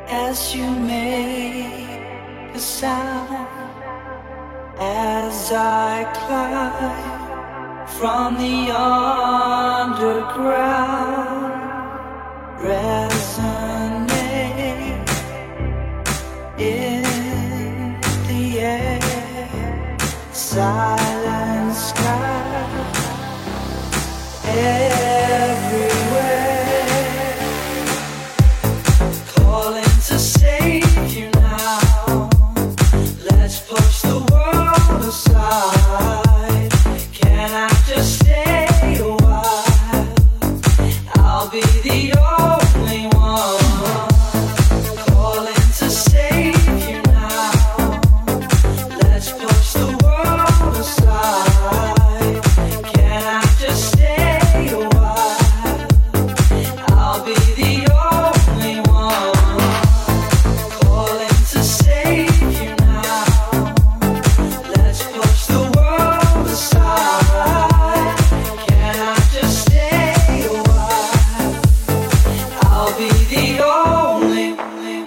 as you make a sound, as I climb from the underground, resonate in the air, silent sky everywhere, calling to save you now. Let's push the world aside. Can I just stay a while? I'll be the only one calling to save you now. Let's push the world aside. Can I just stay a while? I'll be the only one calling to save you now. Let's push the world aside. Can I just stay a while? I'll be the only one.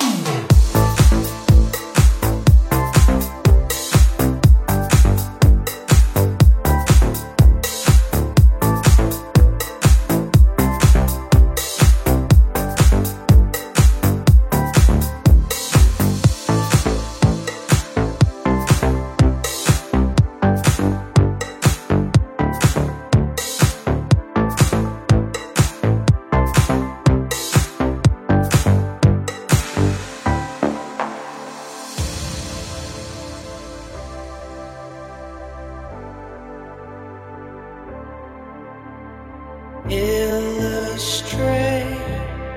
Illustrate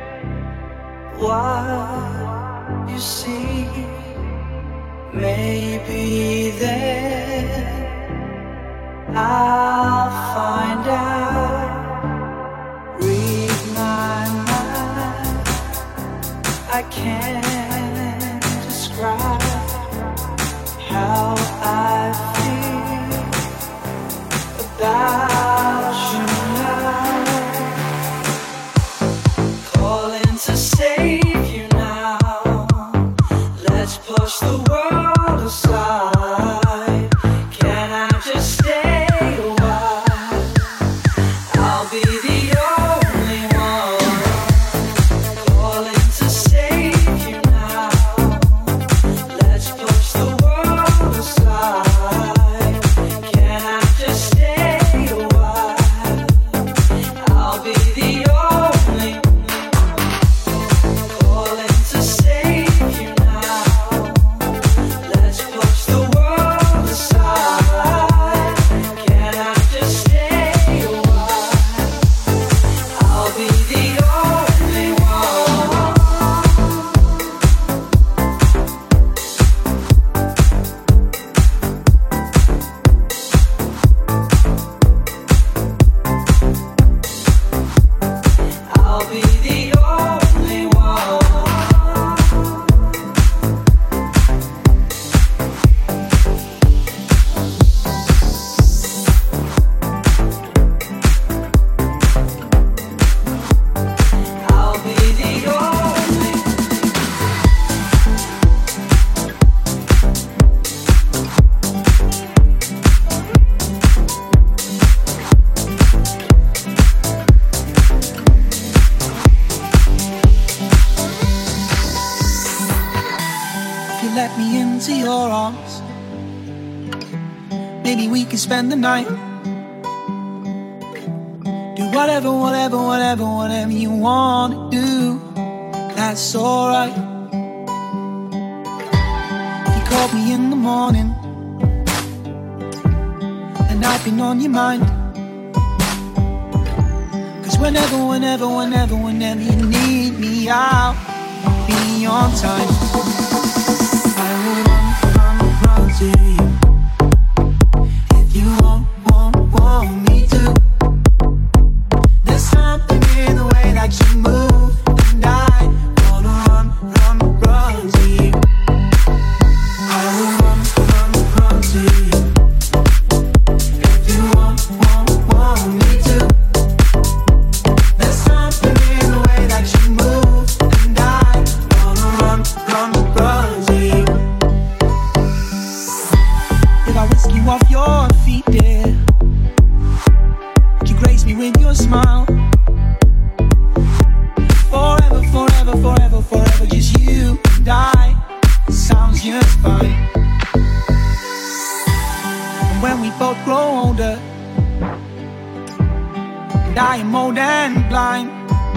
what you see. Maybe then I'll find out. Read my mind. I can't describe how I feel about you now. Calling to save you now. Let's push the world aside. Can I just stay a while? I'll be the only one calling to save you now. Let's push the world aside. Can I just stay a while? I'll be the only calling to save you now. Let's push the world aside. Can I just stay a while? I'll be the only one. I'll be the only one. I'll be the only. If you let me into your arms, maybe we can spend the night. Do whatever, whatever, whatever, whatever you wanna do. That's alright. If you called me in the morning and I've been on your mind, 'cause whenever, whenever, whenever, whenever you need me, I'll be on time. I will run to you if you want me to. There's something in the way that you move, and I wanna run to you. I will run to you if you want me to. There's something in the way that you move, and I wanna run both grow older, and I am old and blind.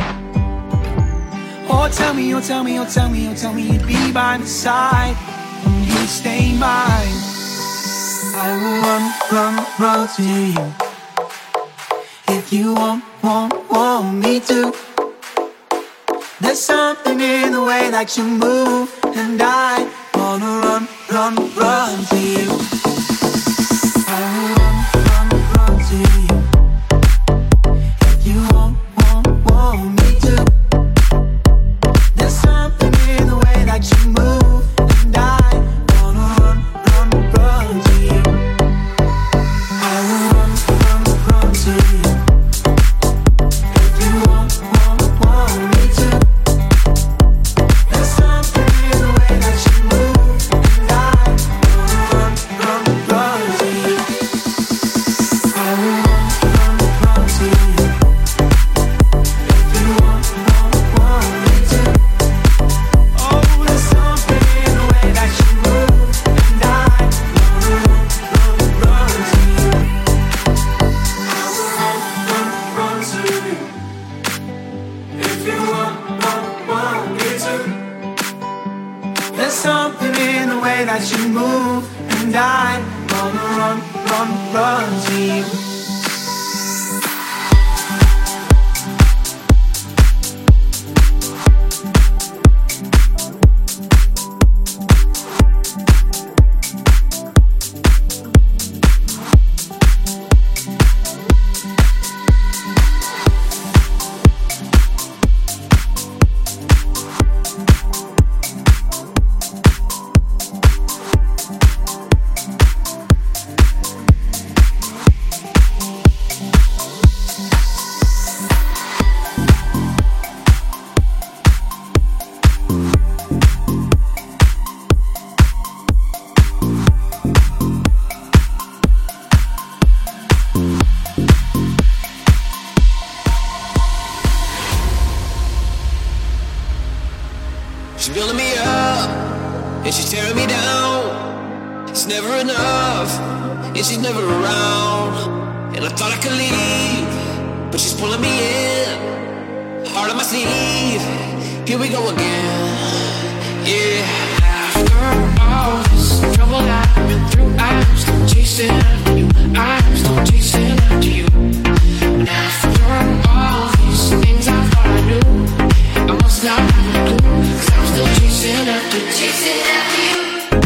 Oh, tell me, oh, tell me, oh, tell me, oh, tell me you'd be by my side, and you stay mine. I will run, run, run to you if you want me to. There's something in the way that you move, and I wanna run, run, run to you. I will run, run, run to you if you want me to. There's something in the way that you move, and I wanna run, run, run to you. I will run, run, run to you if you want me to. There's something in the way that you move, and I wanna run, run, run to you. I will run, run, run to you if you want me to. Oh, there's something in the way that you move, and I wanna run, run, run to you. I will run, run, run to you if you want me to. There's something in the way that you move, and I wanna run, run, run to you. She's building me up, and she's tearing me down. It's never enough, and she's never around. And I thought I could leave, but she's pulling me in. Heart on my sleeve, here we go again. Yeah. After all this trouble I've been through, I'm still chasing after you. I'm still chasing after you. And after all these things I thought I knew, I must not have a clue, 'cause I'm still chasing after you. Chasing after you.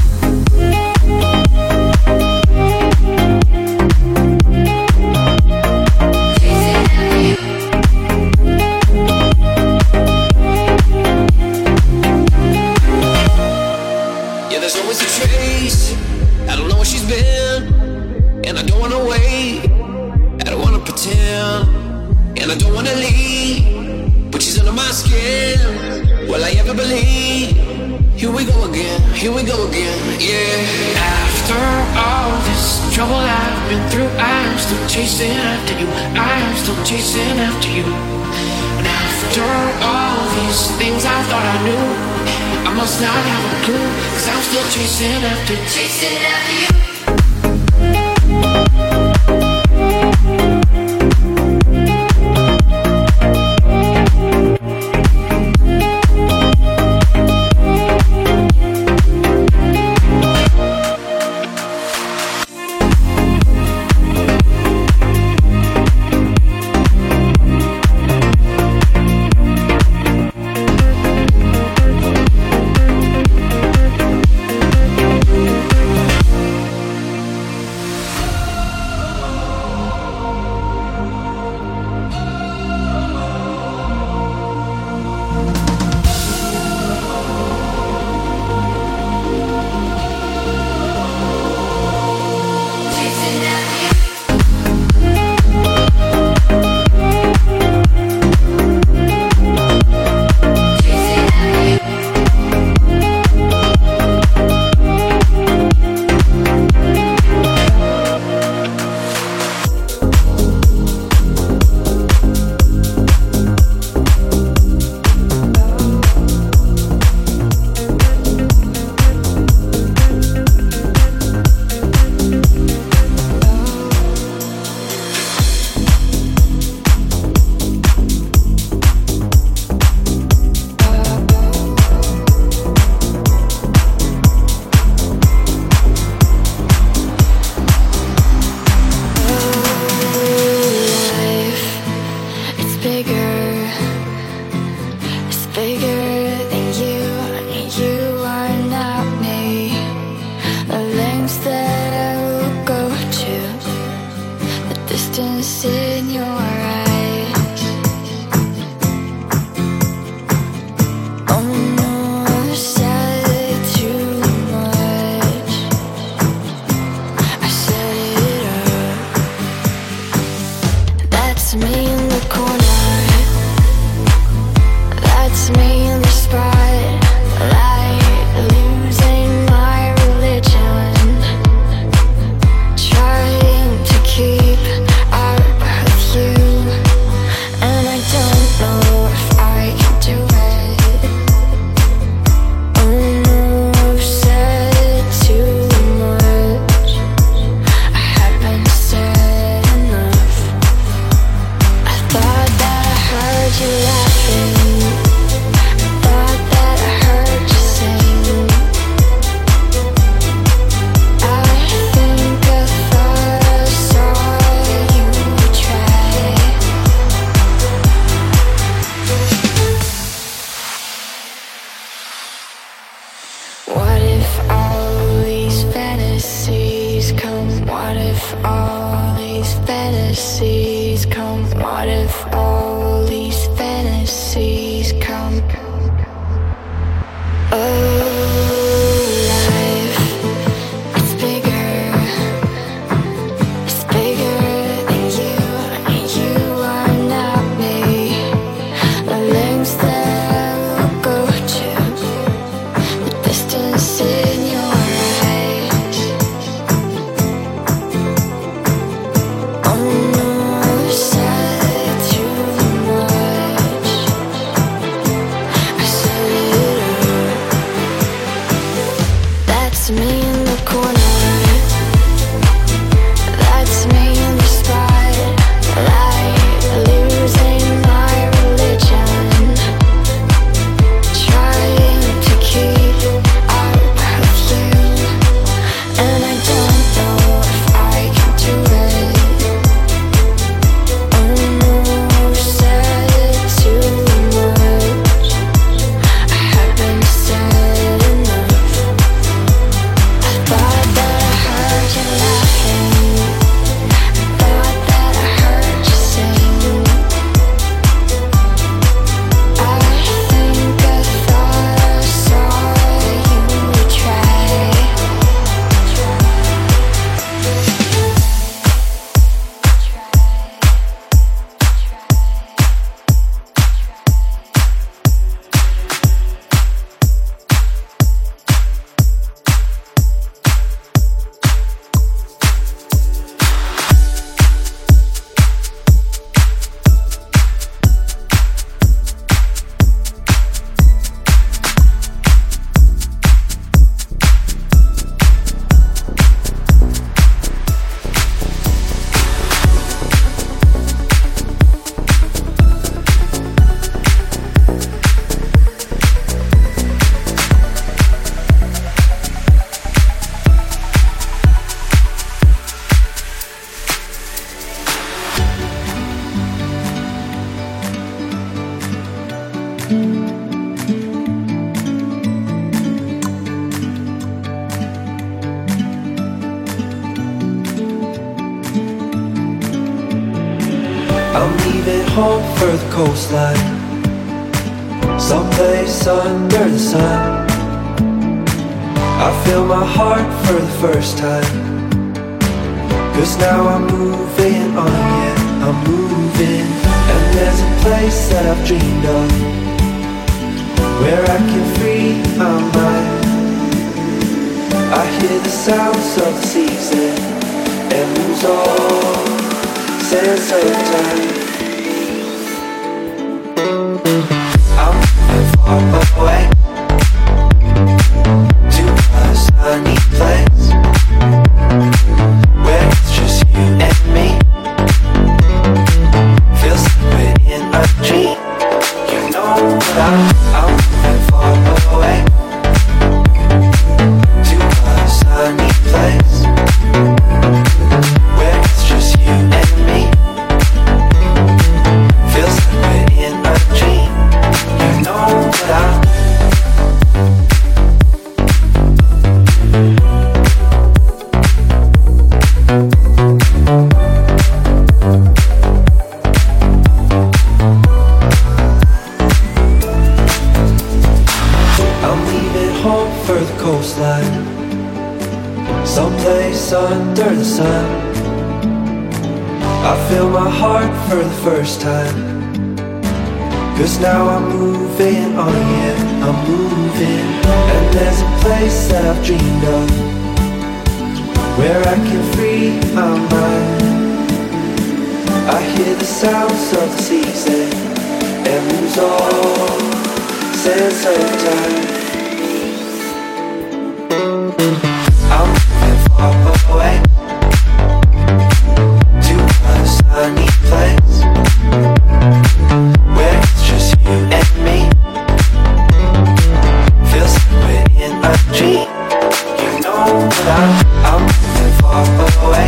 Yeah, there's always a trace. I don't know where she's been, and I don't wanna wait. I don't wanna pretend, and I don't wanna leave, but she's under my skin. Will I ever believe? Here we go again, here we go again, yeah. After all this trouble I've been through, I'm still chasing after you. I'm still chasing after you. And after all these things I thought I knew, I must not have a clue, 'cause I'm still chasing after you. these fantasies come? What if all these fantasies come alive? It's bigger than you, and you are not me. The lengths that we'll go to, the distance in your eyes. Oh no, I've said too much. I said it all. That's me in the corner. That's me in the spotlight, losing my religion, trying to keep up with you, and I don't know if I can do it. Oh no, said too much. I haven't said enough. I thought that I heard you laughing. I thought that I heard you sing. I think I thought I saw you try. I'm leaving home for the coastline, someplace under the sun. I feel my heart for the first time, 'cause now I'm moving on, yeah, I'm moving. And there's a place that I've dreamed of, where I can free my mind. I hear the sounds of the season and lose all sense of time. I'm moving far away to a sunny place where it's just you and me. Feels like we're in a dream. You know that I'm moving far away to a sunny place where it's just you and me. Feels like we're in a dream. You know that I'm leaving home for the coastline, someplace under the sun. I feel my heart for the first time, 'cause now I'm moving on, yeah, I'm moving. And there's a place that I've dreamed of, where I can free my mind. I hear the sounds of the season and lose all sense of time. I'm moving far away to a sunny place where it's just you and me. Feels like we're in a dream. You know that I'm moving far away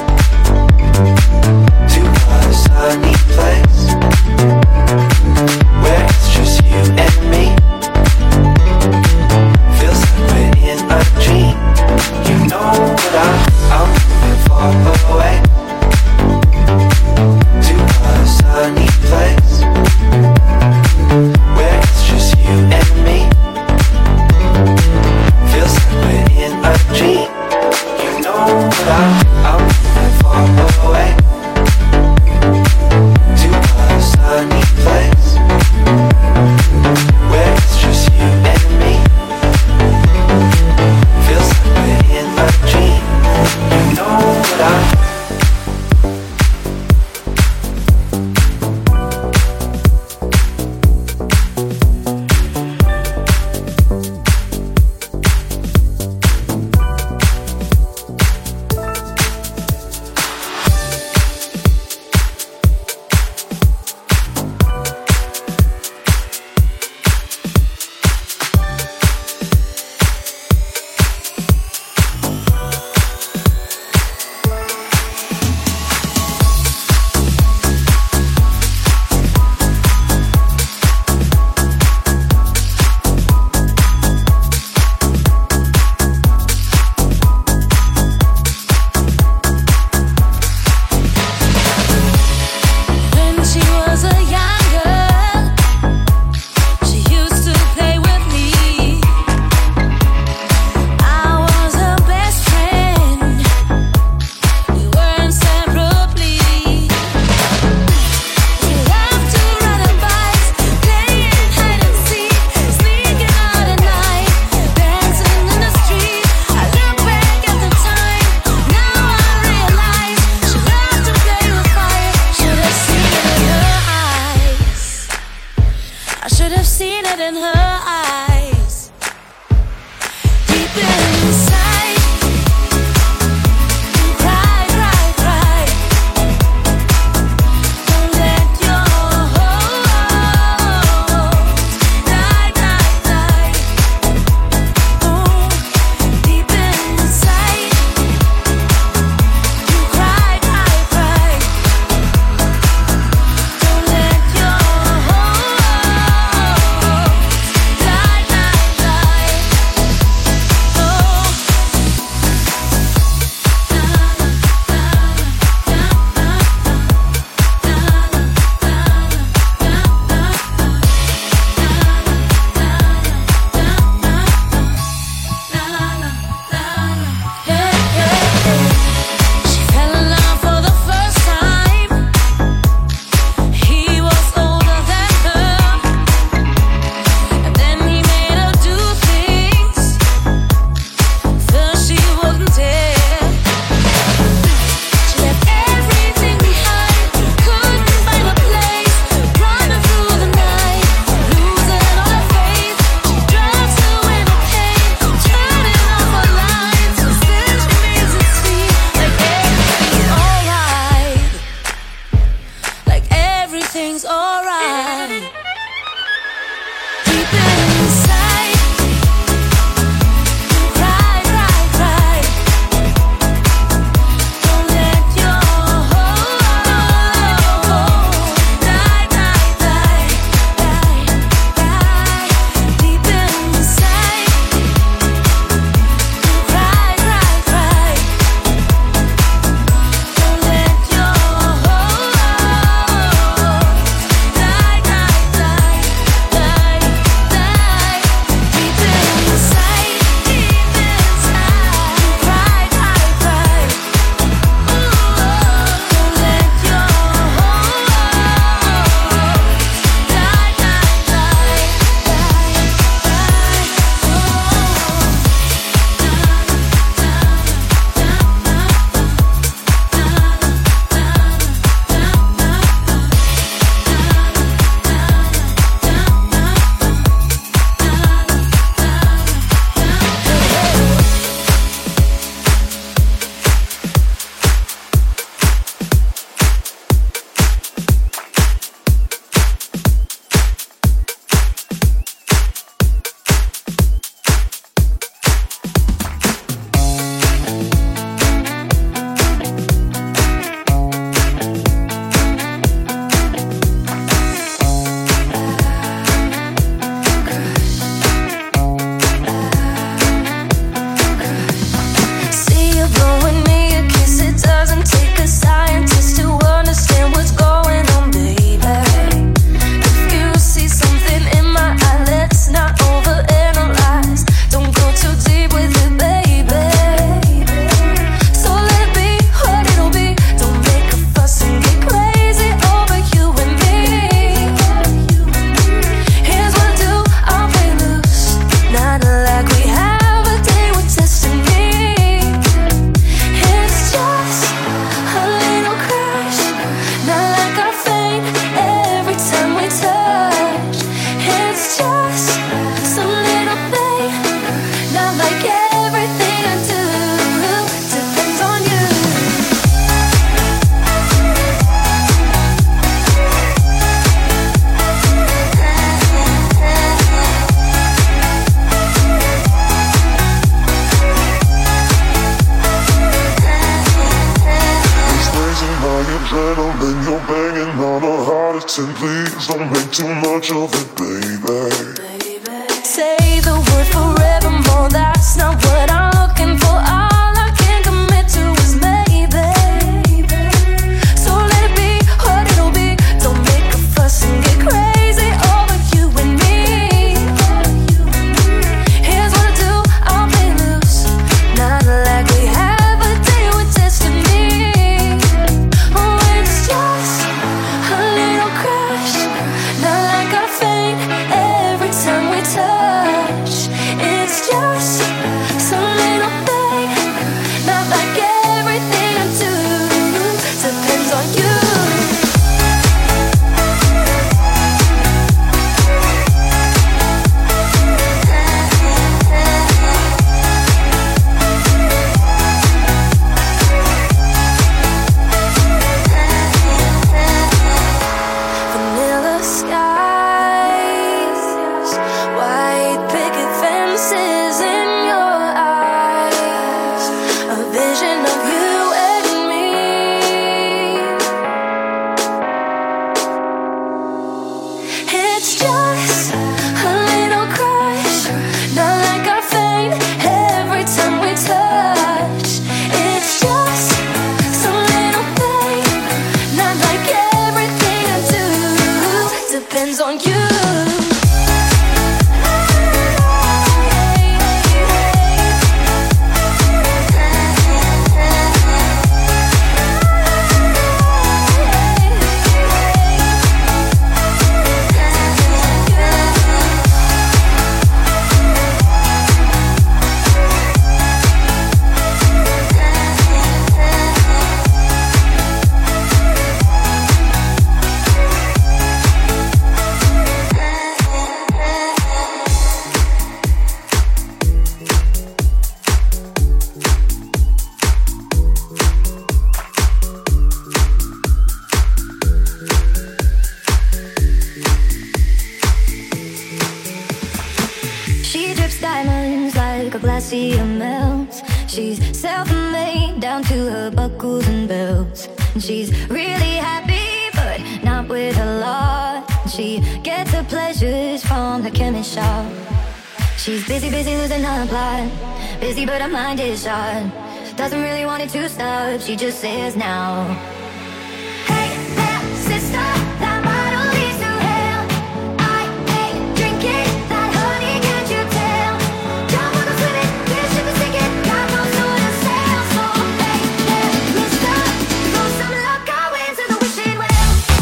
to a sunny place where it's just you and me. Feels like we're in a dream. You know that I'm moving far away Say please don't make too much of it, baby. Say the word forevermore, that's not what I'm looking for. All I can commit to is maybe. So let it be what it'll be. Don't make a fuss and get crazy over you and me. Here's what I do, I'll play loose. Not like we have a deal with destiny. Oh, it's just a little crush. Not like I faint every time we touch. It's just some little thing. Not like everything I do depends on you. Vanilla skies, white picket fences in your eyes, a vision of you and me. It's just a little crush, not like I faint every time we touch. It's just some little thing, not like everything I do depends on you. She drips diamonds like a glacier melts. She's self-made down to her buckles and belts. And she's really happy, but not with a lot. She gets her pleasures from the chemist shop. She's busy losing her plot. Busy, but her mind is shot. Doesn't really want it to stop. She just says now. Hey there, sister, that bottle leads to hell. I ain't drinking that honey, can't you tell? Jump on the swimming, this ship is sinking, got no sort of sail. So hey there, mister, throw some luck our way into the wishing well.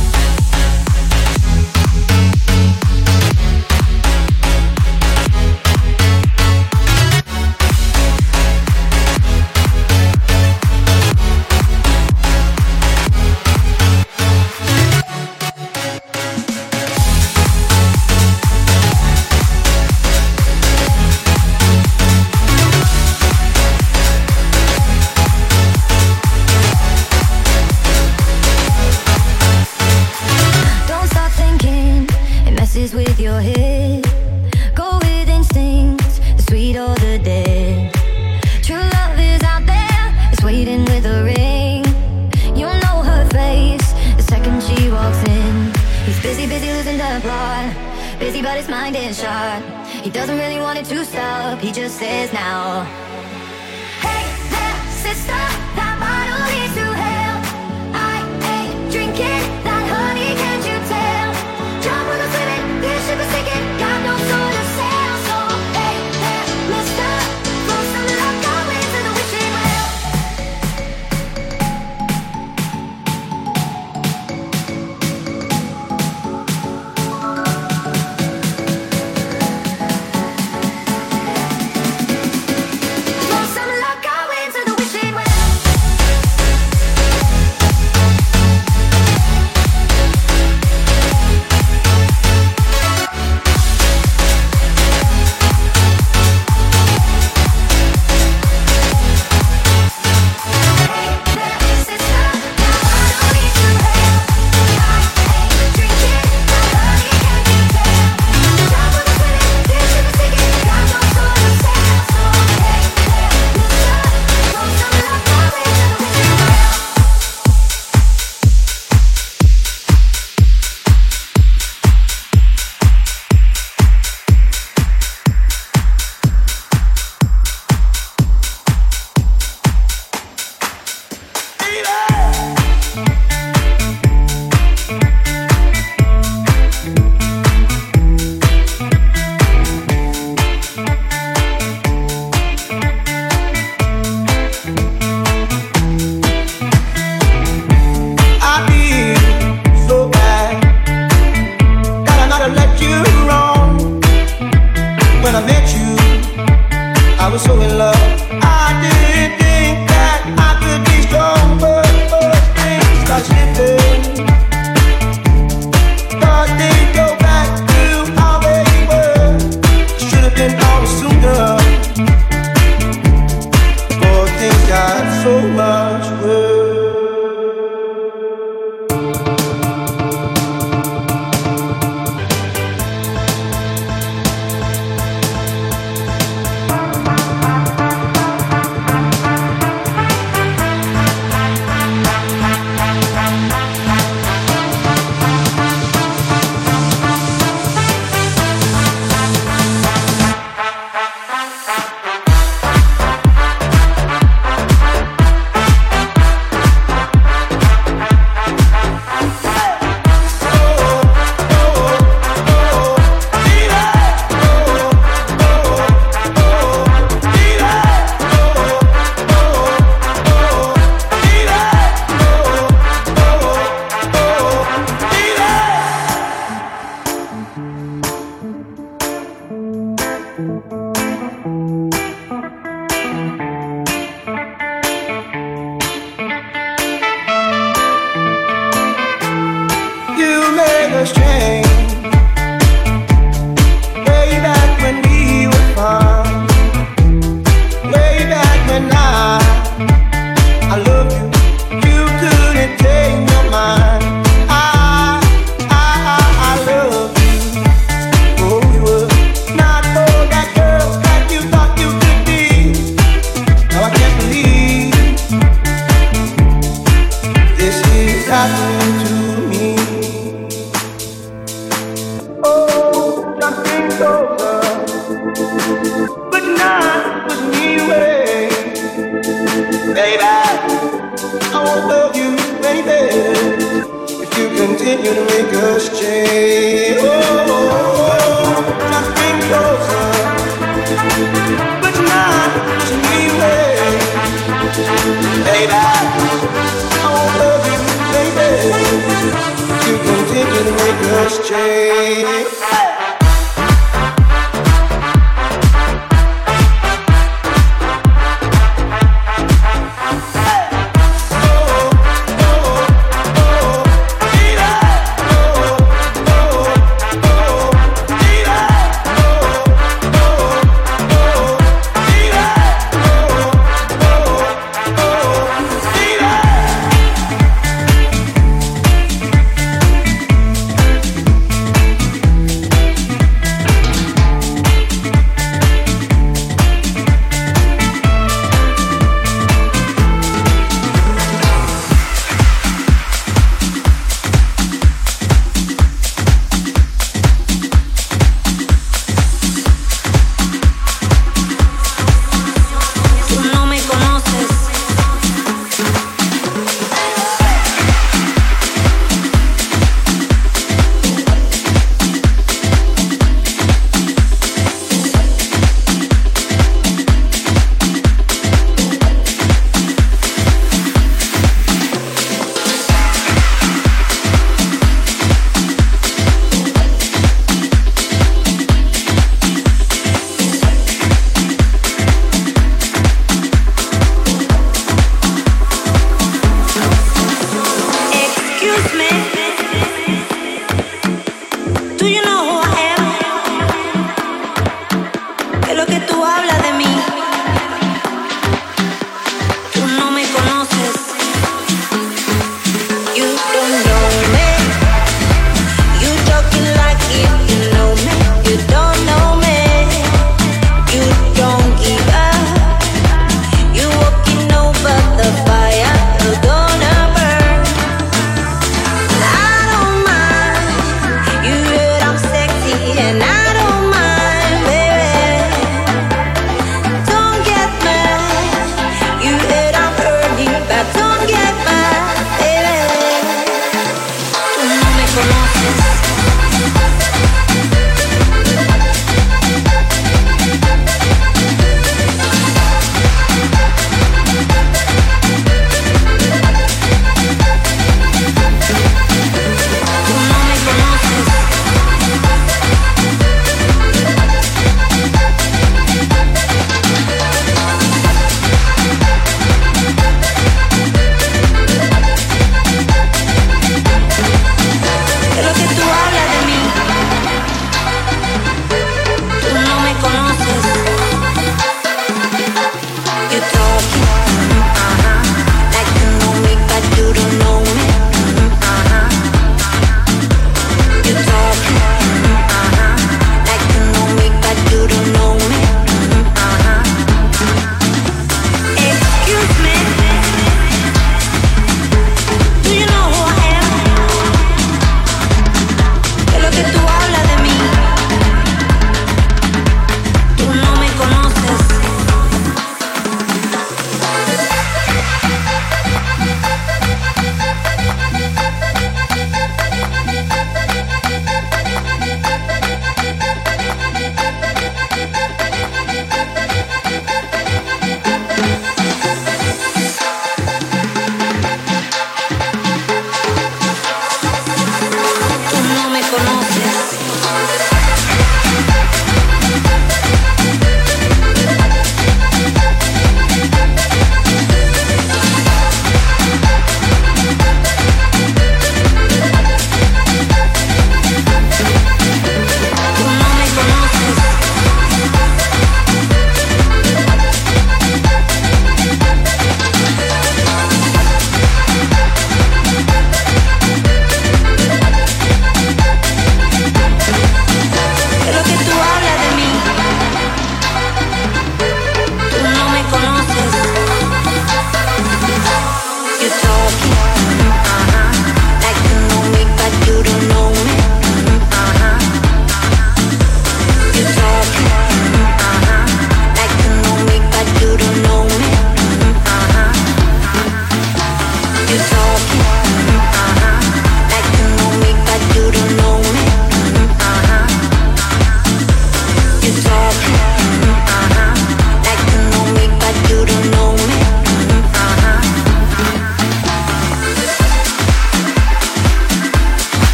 Don't stop thinking, it messes with your head. Go with instinct, the sweet or the dead. True love is out there, it's waiting with a ring. You'll know her face the second she walks in. He's busy losing the plot. Busy but his mind is shot. He doesn't really want it to stop, he just says now. Hey there, sister, that bottle leads to hell. I ain't drinking that honey, can't you tell? Jump on the swimming, this ship is sinking, got no sort of sail. So hey there, mister, throw some luck our way to the wishing well. Throw I was so in love. I didn't think that I could be strong, but things start slipping. Thought they'd go back to how they were. Should have been on sooner. But things got so much worse.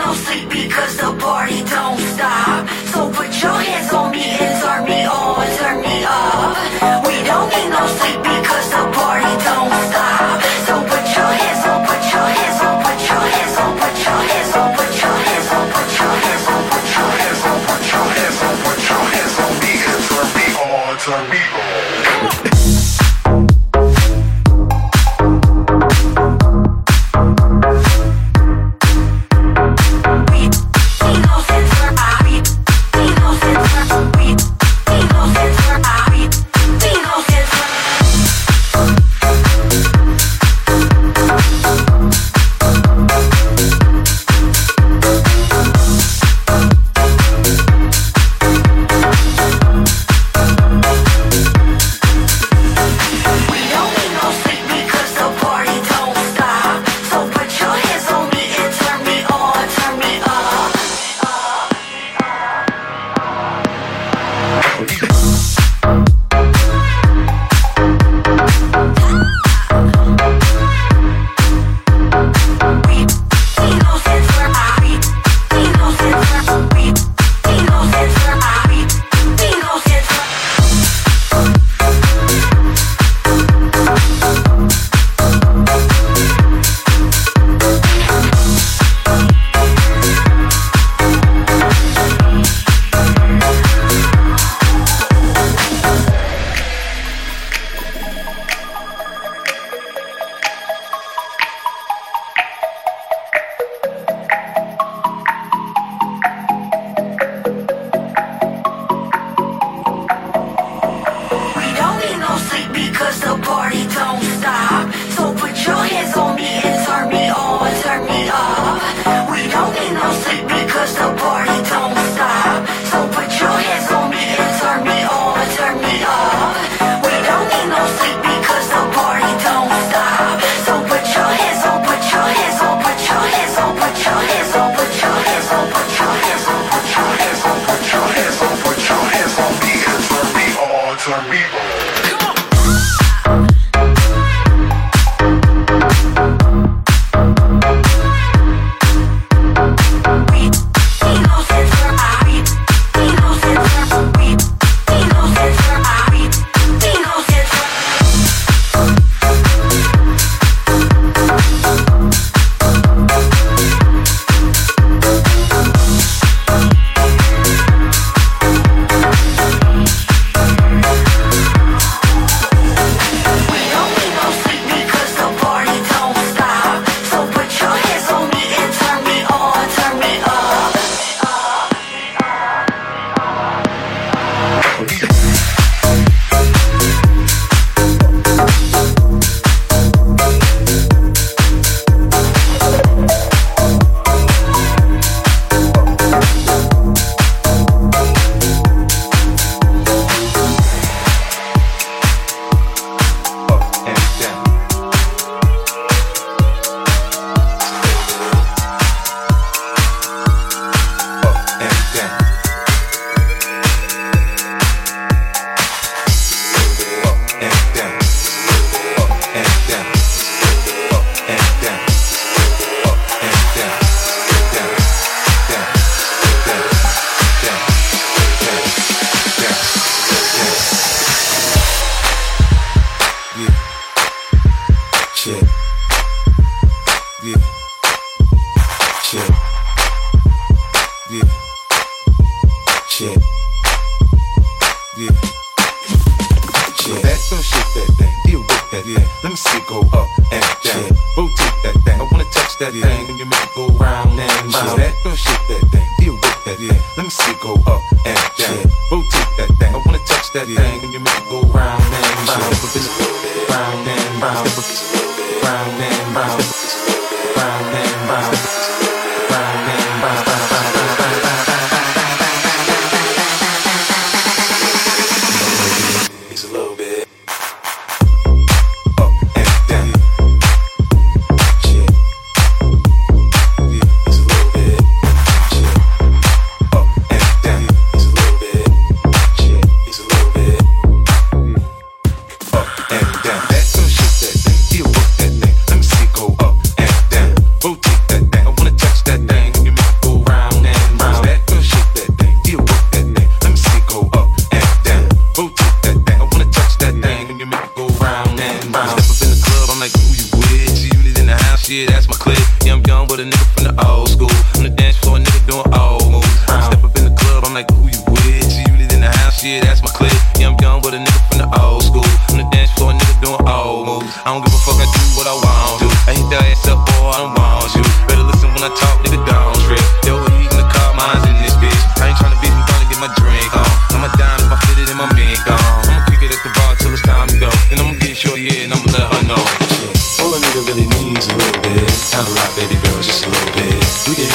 no sleep because the party don't stop. So put your hands on me and turn me on, turn me up. We don't need no sleep because the party don't stop. So put your hands on, put your hands on, put your hands on, put your hands on, put your hands on, put your hands on, put your hands on, put your hands on, put your hands on me and turn me on, turn me on.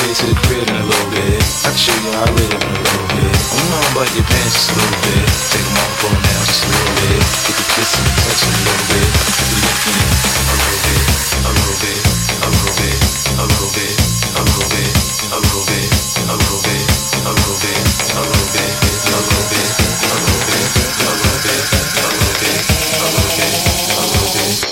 head to the crib in a little bit. I can show you how I live in a little bit. I'm on but your pants just a little bit. Take them off, pull them down just a little bit. Get the kissing and touching a little bit. Get the licking it a little bit, a little bit, a little bit, a little bit, a little bit, a little bit, a little bit, a little bit, a little bit, a little bit, a little bit, a little bit, a little bit, a little bit, a little bit.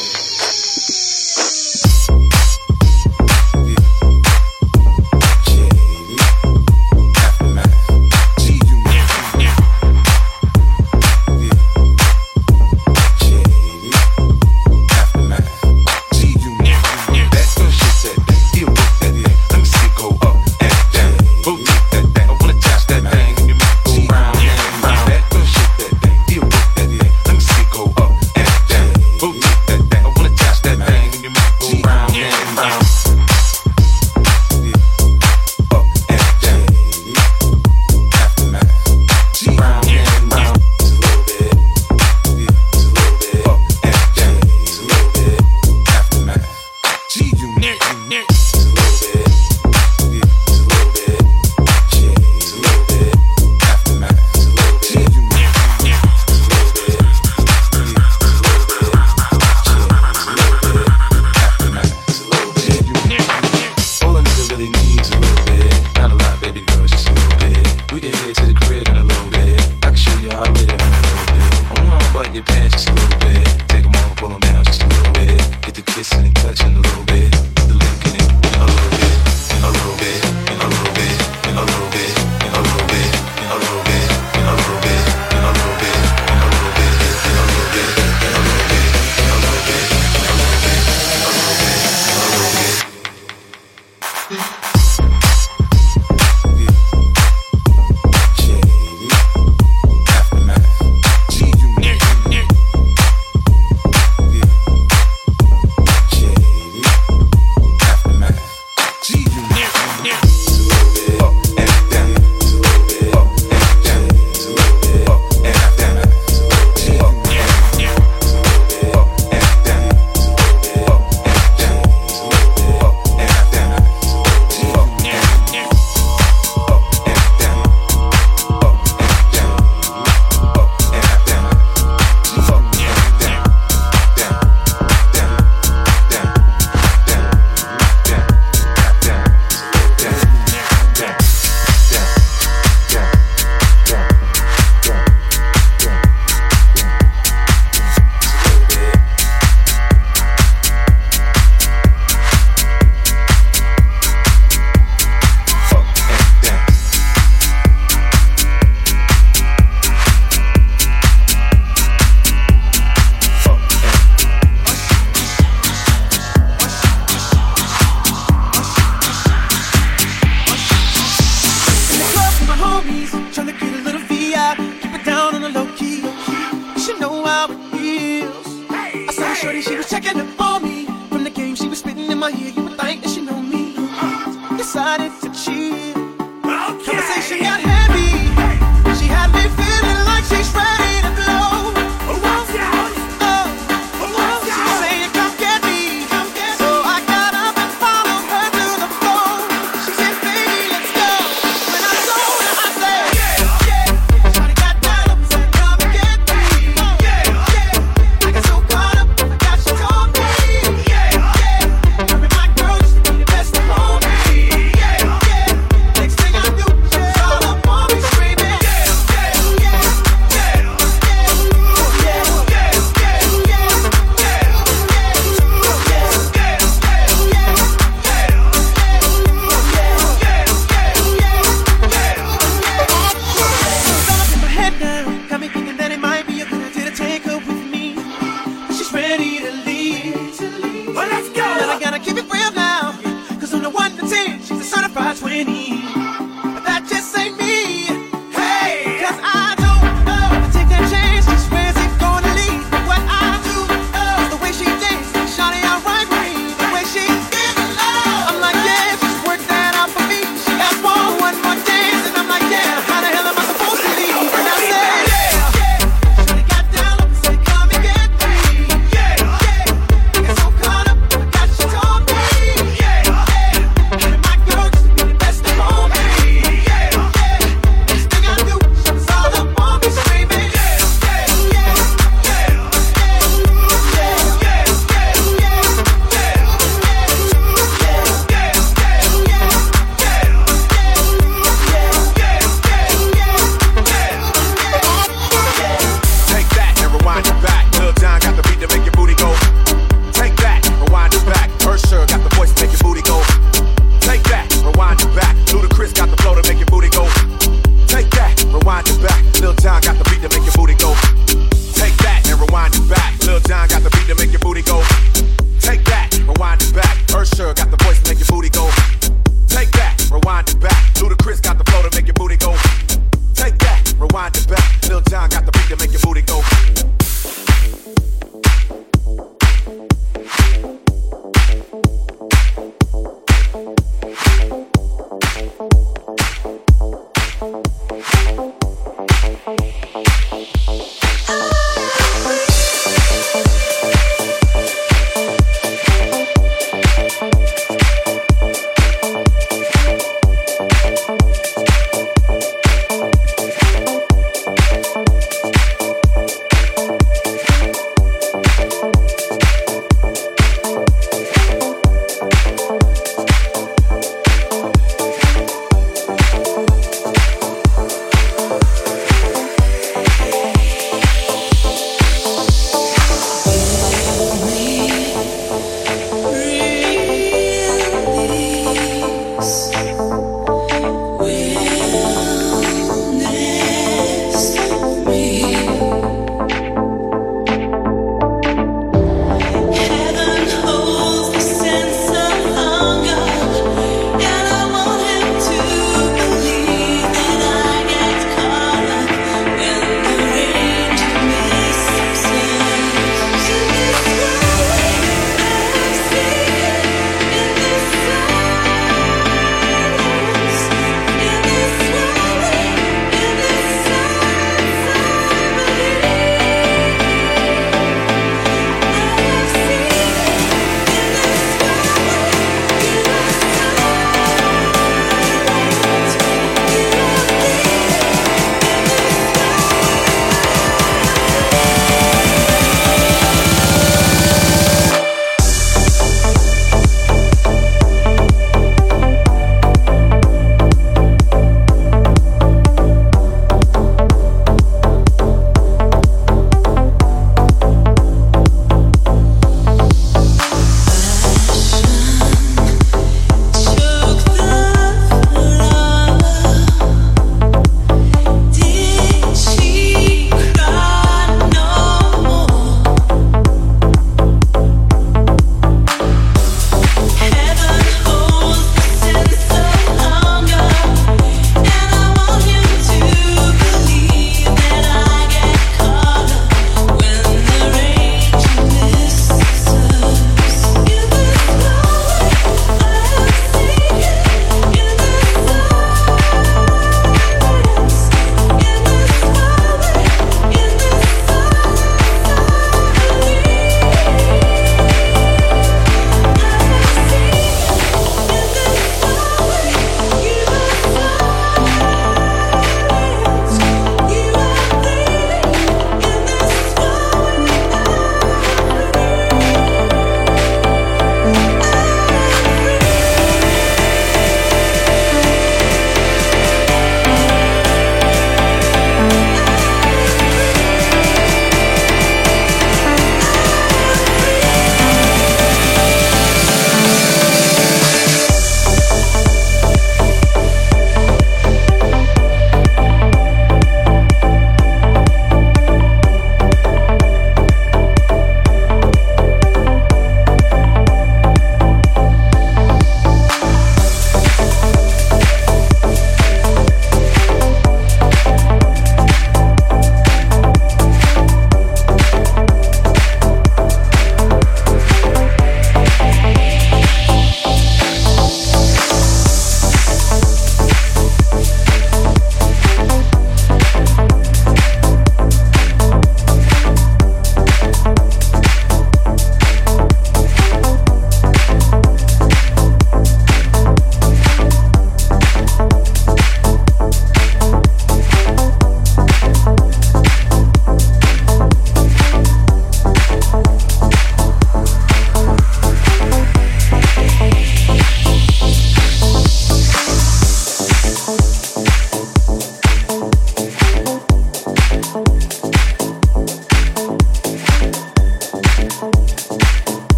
But I gotta keep it real now, 'cause on the 1 to 10, she's a certified 20.